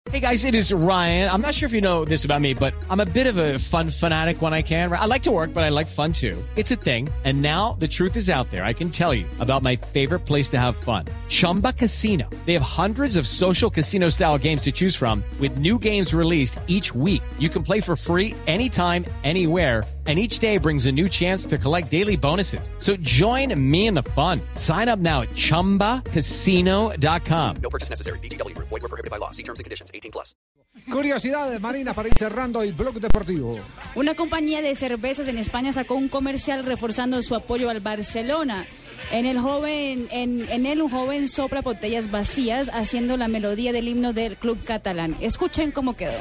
Hey guys, it is Ryan. I'm not sure if you know this about me, but I'm a bit of a fun fanatic when I can. I like to work, but I like fun too. It's a thing. And now the truth is out there. I can tell you about my favorite place to have fun. Chumba Casino. They have hundreds of social casino style games to choose from with new games released each week. You can play for free anytime, anywhere. And each day brings a new chance to collect daily bonuses. So join me in the fun. Sign up now at ChumbaCasino.com. No purchase necessary. VGW Group. Void where prohibited by law. See terms and conditions. 18+. Curiosidades, Marina, para ir cerrando el blog deportivo. Una compañía de cervezas en España sacó un comercial reforzando su apoyo al Barcelona. En él un joven sopla botellas vacías haciendo la melodía del himno del club catalán. Escuchen cómo quedó.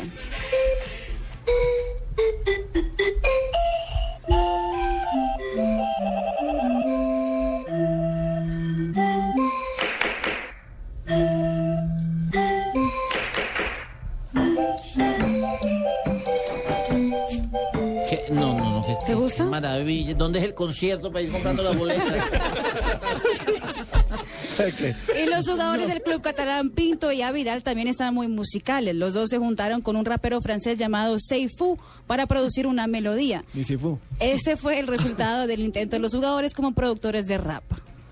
No. ¿Te gusta? Qué maravilla. ¿Dónde es el concierto para ir comprando las boletas? Y los jugadores del club catalán Pinto y Avidal también están muy musicales. Los dos se juntaron con un rapero francés llamado Seifu para producir una melodía. ¿Y si fue? Este fue el resultado del intento de los jugadores como productores de rap.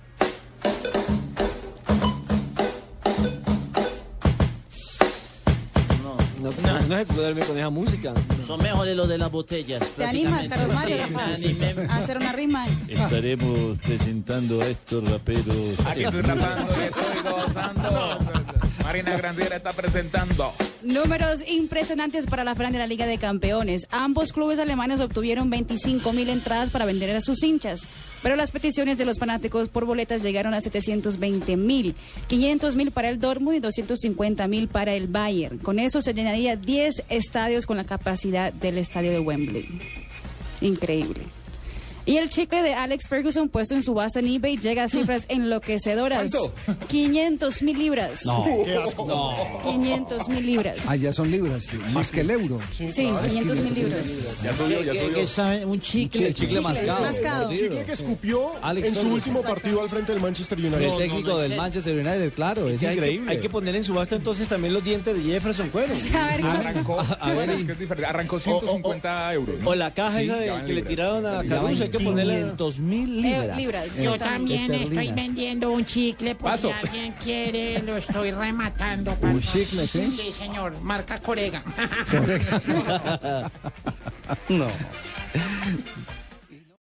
No se puede darme con esa música. Son mejores los de las botellas. ¿Te animas, Carlos Mario, Sí, me animé. a hacer una rima? Estaremos presentando a estos raperos. Aquí estoy rapando y estoy gozando. Marina Granciera está presentando. Números impresionantes para la final de la Liga de Campeones. Ambos clubes alemanes obtuvieron 25,000 entradas para vender a sus hinchas, pero las peticiones de los fanáticos por boletas llegaron a 720,000, 500,000 para el Dortmund y 250,000 para el Bayern. Con eso se llenaría 10 estadios con la capacidad del estadio de Wembley. Increíble. Y el chicle de Alex Ferguson puesto en subasta en eBay llega a cifras enloquecedoras. ¿Cuánto? 500,000 libras. No. Qué asco. No. 500,000 libras. Ah, ya son libras, sí, más que el euro. Sí, 500,000 libras. Ya subió, ya ¿Qué subió. sabe? Un chicle. Chicle mascado. Mascado. Chicle que escupió Alex en su Ferguson. último partido al frente del Manchester United. El técnico del Manchester United, claro, es increíble. Hay que poner en subasta entonces también los dientes de Jefferson Cuero. A ver, Arrancó, A ver, bueno, es que es diferente. Arrancó 150 euros, ¿no? O la caja esa ya de, van que le libras. tiraron a Ya van Caruso, hay que ponerle... 500,000 libras. libras. Yo también estoy vendiendo un chicle por Paso. si alguien quiere, lo estoy rematando. Un chicle, ¿sí? Sí, señor, marca Corega. No.